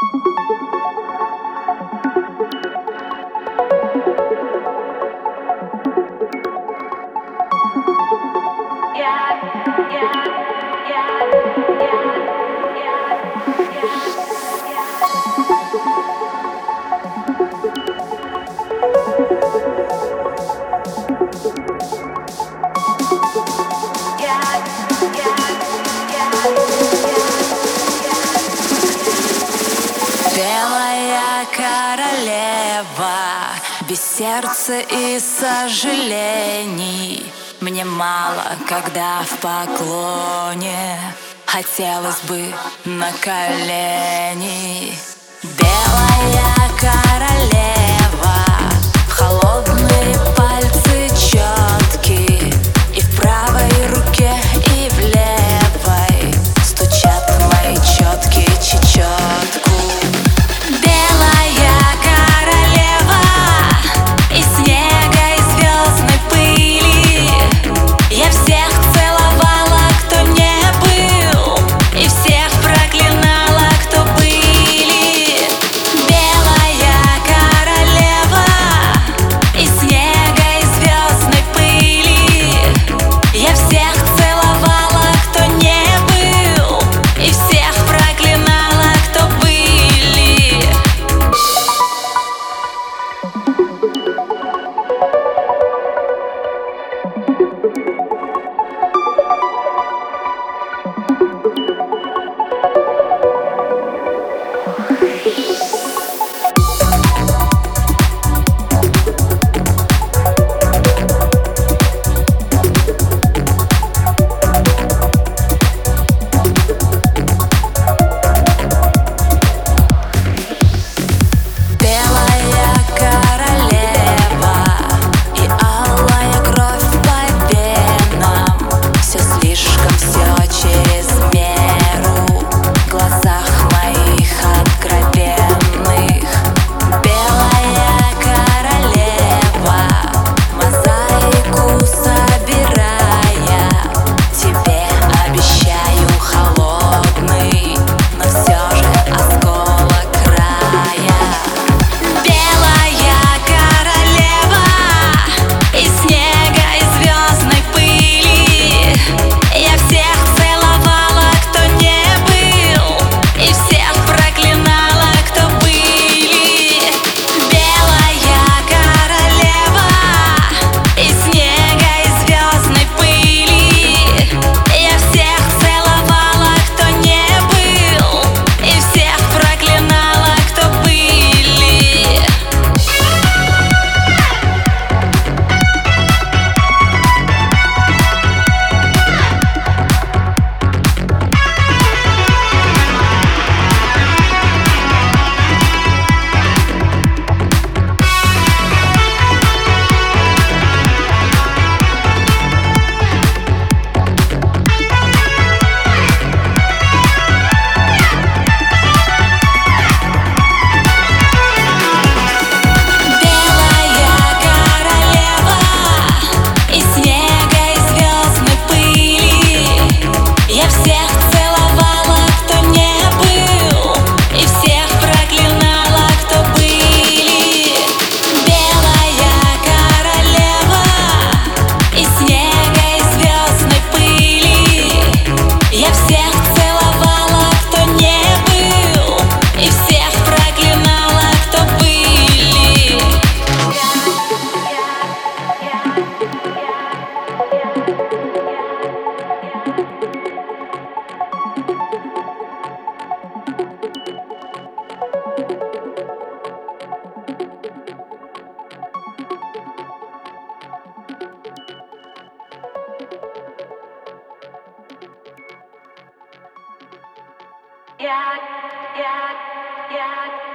Белая королева, без сердца и сожалений. Мне мало, когда в поклоне, хотелось бы на колени. Белая королева, в холодные пальцы четки, и в правой руке, и в левой стучат мои четки чечетку. Белая королева из снега и звездной пыли. Я всех целовала, кто не был, и всех проклинала, кто были. Белая королева из снега и звездной пыли. Я всех целовала, кто не был, и всех проклинала, кто были. Yeah, yeah, yeah.